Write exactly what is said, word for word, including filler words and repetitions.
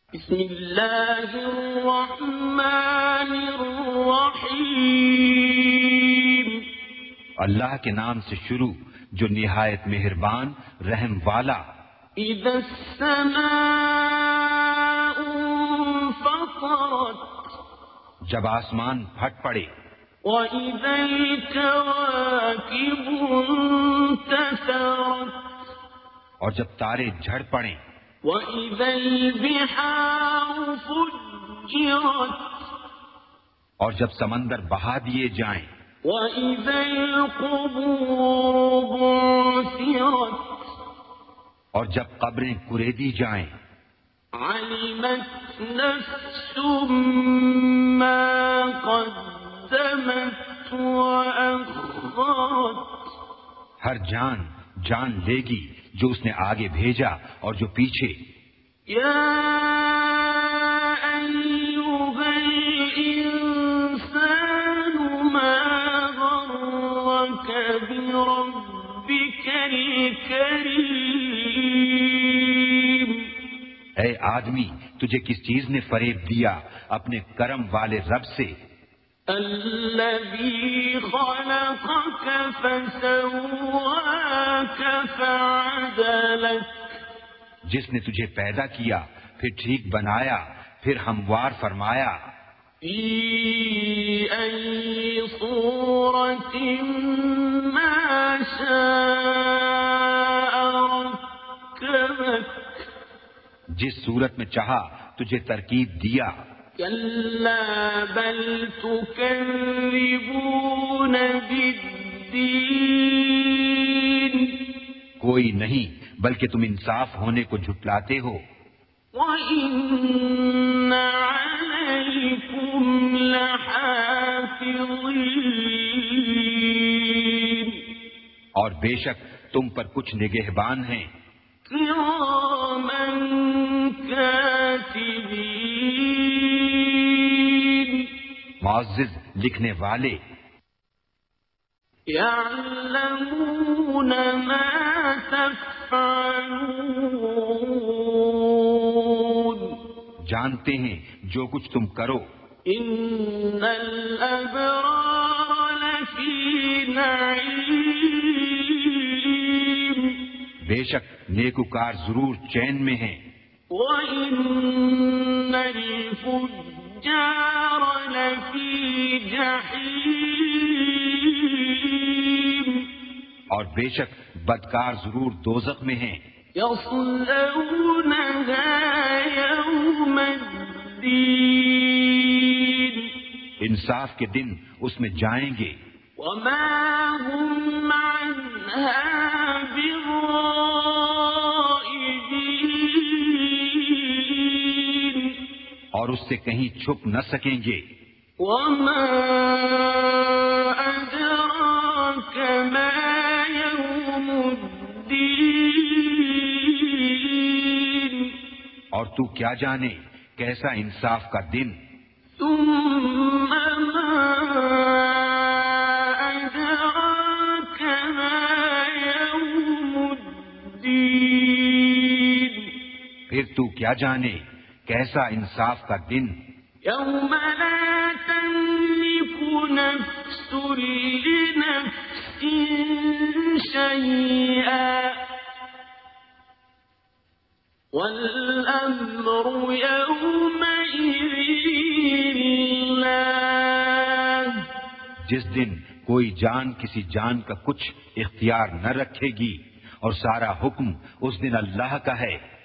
بسم اللہ الرحمن الرحیم، اللہ کے نام سے شروع جو نہایت مہربان رحم والا۔ اذا السماء انفطرت، جب آسمان پھٹ پڑے، وَإِذَا الْكَوَاكِبُ انتَثَرَتْ، اور جب تارے جھڑ پڑیں، وَإِذَا الْبِحَارُ فُجِّرَتْ، اور جب سمندر بہا دیے جائیں، وَإِذَا الْقُبُورُ بُعْثِرَتْ، اور جب قبریں کریدی جائیں، عَلِمَتْ نَفْسٌ مَّا قَدَّمَتْ وَأَخَّرَتْ، ہر جان جان لے گی جو اس نے آگے بھیجا اور جو پیچھے۔ یا ایھا الانسان ما غرک بربک الکریم، اے آدمی تجھے کس چیز نے فریب دیا اپنے کرم والے رب سے، الذی خلقک فسواک فعدلک، جس نے تجھے پیدا کیا پھر ٹھیک بنایا پھر ہموار فرمایا، فی ای صورت ما شاء رکبک، جس صورت میں چاہا تجھے ترکیب دیا، کلا بل تکذبون بالدین، کوئی نہیں بلکہ تم انصاف ہونے کو جھٹلاتے ہو، وَإِنَّ عَلَيْكُمْ لَحَافِظِينَ، اور بے شک تم پر کچھ نگہبان ہیں، کِرَامًا کاتبین، معزز لکھنے والے، یعلمون ما تفعلون، جانتے ہیں جو کچھ تم کرو، ان الابرار لفی نعیم، بے شک نیکوکار ضرور چین میں ہیں، وَإِنَّ الْفُجَّارَ لَفِي جَحِيمٍ، اور بے شک بدکار ضرور دوزخ میں ہیں، يَصْلَوْنَهَا يَوْمَ الدِّينِ، انصاف کے دن اس میں جائیں گے، وَمَا هُمْ عَنْهَا بِغَائِبِينَ، اور اس سے کہیں چھپ نہ سکیں گے، وَمَا أَدْرَاكَ مَا يَوْمُ الدِّينِ، اور تو کیا جانے کیسا انصاف کا دن، ثُمَّ مَا أَدْرَاكَ مَا يَوْمُ الدِّينِ، پھر تو کیا جانے کیسا انصاف کا دن، يَوْمَ لَا تَمْلِكُ نَفْسٌ لِّنَفْسٍ شَيْئًا وَالْأَمْرُ يَوْمَئِذٍ لِلَّهِ، جس دن کوئی جان کسی جان کا کچھ اختیار نہ رکھے گی اور سارا حکم اس دن اللہ کا ہے۔